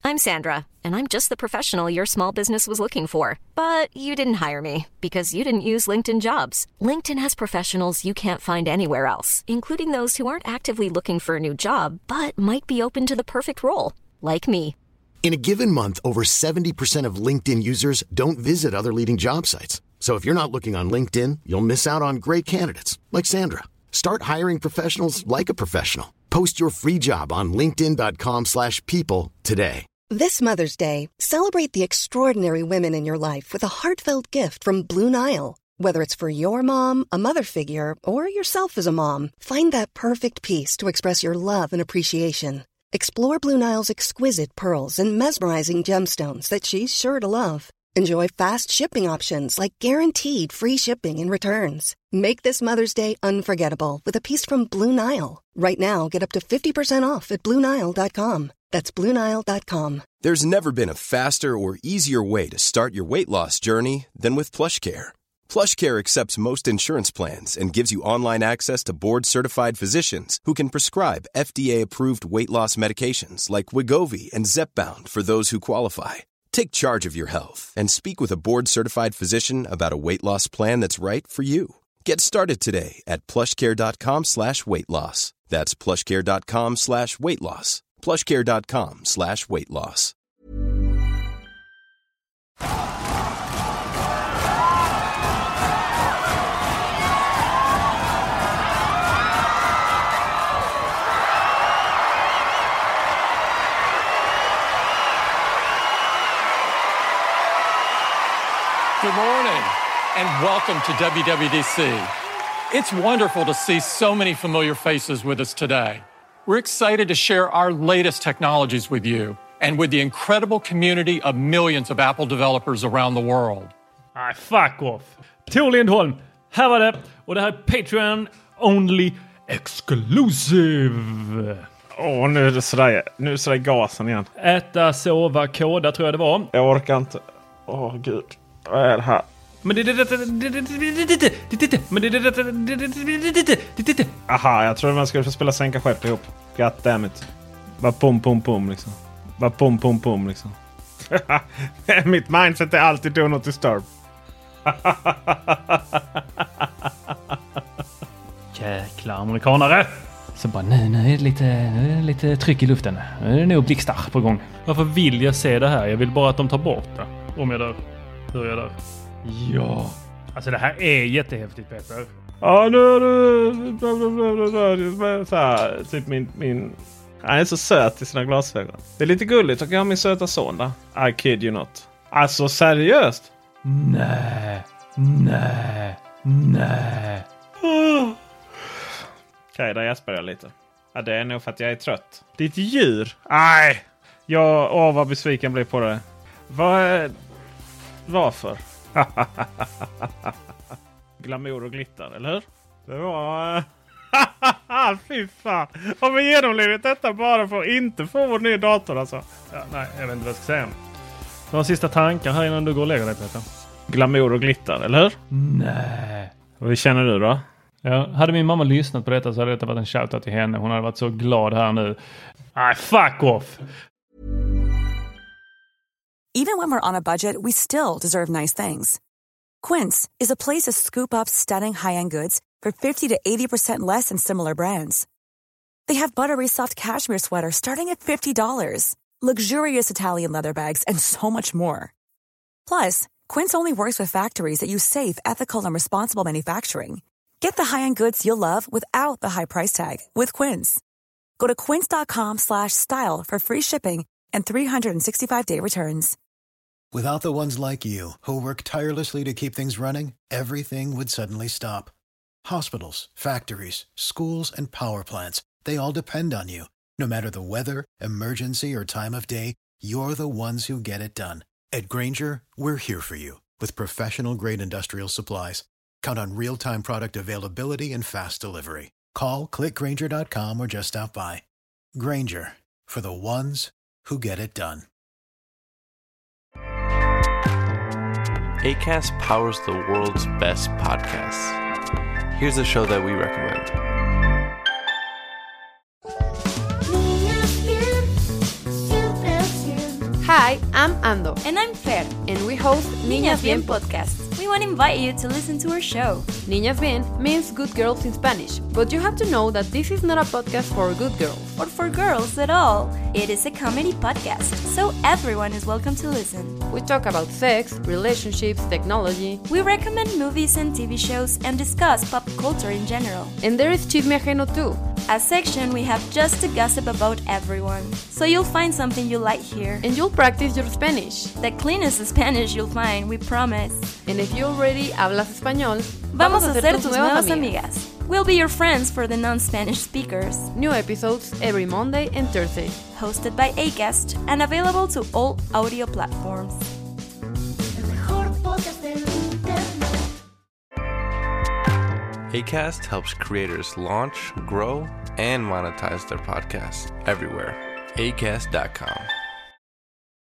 I'm Sandra, and I'm just the professional your small business was looking for. But you didn't hire me because you didn't use LinkedIn Jobs. LinkedIn has professionals you can't find anywhere else, including those who aren't actively looking for a new job, but might be open to the perfect role, like me. In a given month, over 70% of LinkedIn users don't visit other leading job sites. So if you're not looking on LinkedIn, you'll miss out on great candidates like Sandra. Start hiring professionals like a professional. Post your free job on linkedin.com/people today. This Mother's Day, celebrate the extraordinary women in your life with a heartfelt gift from Blue Nile. Whether it's for your mom, a mother figure, or yourself as a mom, find that perfect piece to express your love and appreciation. Explore Blue Nile's exquisite pearls and mesmerizing gemstones that she's sure to love. Enjoy fast shipping options like guaranteed free shipping and returns. Make this Mother's Day unforgettable with a piece from Blue Nile. Right now, get up to 50% off at BlueNile.com. That's BlueNile.com. There's never been a faster or easier way to start your weight loss journey than with PlushCare. PlushCare accepts most insurance plans and gives you online access to board-certified physicians who can prescribe FDA-approved weight loss medications like Wegovy and Zepbound for those who qualify. Take charge of your health and speak with a board-certified physician about a weight loss plan that's right for you. Get started today at plushcare.com/weightloss. That's plushcare.com/weightloss. plushcare.com/weightloss. Good morning, and welcome to WWDC. It's wonderful to see so many familiar faces with us today. We're excited to share our latest technologies with you and with the incredible community of millions of Apple developers around the world. Nej, fuck off. Tor Lindholm, här var det. Och det här är Patreon Only Exclusive. Nu är det sådär gasen igen. Äta, sova, koda tror jag det var. Jag orkar inte. Gud. Vad är det här? Aha, jag trodde man skulle få spela sänka skepp ihop. God damn it. Bara pum liksom. Bara pum liksom. Mitt mindset är alltid do not disturb. Jäkla amerikanare. Så bara nu är det lite tryck i luften. Nu är det nog blixtar på gång. Varför vill jag se det här? Jag vill bara att de tar bort det. Om jag dör. Hur är jag där? Ja. Alltså det här är jättehäftigt, Peter. Ja, nu är det så här, typ min... Han är så söt i sina glasögon. Det är lite gulligt och jag har min söta son där. I kid you not. Alltså seriöst? Nej. Okej, där jäspar jag lite. Ja, det är nog för att jag är trött. Ditt djur? Nej. Vad besviken blir på det. Varför? Glamour och glitter, eller hur? Det var... Fy fan. Har vi genomlevt detta bara för att inte få vår nya dator alltså? Ja, nej, jag vet inte vad jag ska säga. Några sista tankar här innan du går och lägger dig, Peter? Glamour och glitter, eller hur? Nej. Vad känner du då? Ja, hade min mamma lyssnat på detta så hade det varit en shoutout till henne. Hon hade varit så glad här nu. Nej, fuck off! Even when we're on a budget, we still deserve nice things. Quince is a place to scoop up stunning high-end goods for 50 to 80% less than similar brands. They have buttery soft cashmere sweaters starting at $50, luxurious Italian leather bags, and so much more. Plus, Quince only works with factories that use safe, ethical, and responsible manufacturing. Get the high-end goods you'll love without the high price tag with Quince. Go to quince.com/style for free shipping and 365-day returns. Without the ones like you, who work tirelessly to keep things running, everything would suddenly stop. Hospitals, factories, schools, and power plants, they all depend on you. No matter the weather, emergency, or time of day, you're the ones who get it done. At Grainger, we're here for you with professional-grade industrial supplies. Count on real-time product availability and fast delivery. Call, click Grainger.com, or just stop by. Grainger, for the ones who get it done. Acast powers the world's best podcasts. Here's a show that we recommend. Hi, I'm Ando. And I'm Fer. And we host Niñas Bien podcast. We want to invite you to listen to our show. Niñas Bien means good girls in Spanish, but you have to know that this is not a podcast for good girls. Or for girls at all. It is a comedy podcast, so everyone is welcome to listen. We talk about sex, relationships, technology. We recommend movies and TV shows and discuss pop culture in general. And there is Chisme Ajeno too. A section we have just to gossip about everyone. So you'll find something you like here. And you'll practice your Spanish. The cleanest Spanish you'll find, we promise. And if you already hablas español, vamos a ser tus nuevas amigas. We'll be your friends for the non-Spanish speakers. New episodes every Monday and Thursday. Hosted by Acast and available to all audio platforms. Acast helps creators launch, grow, and monetize their podcasts everywhere. Acast.com.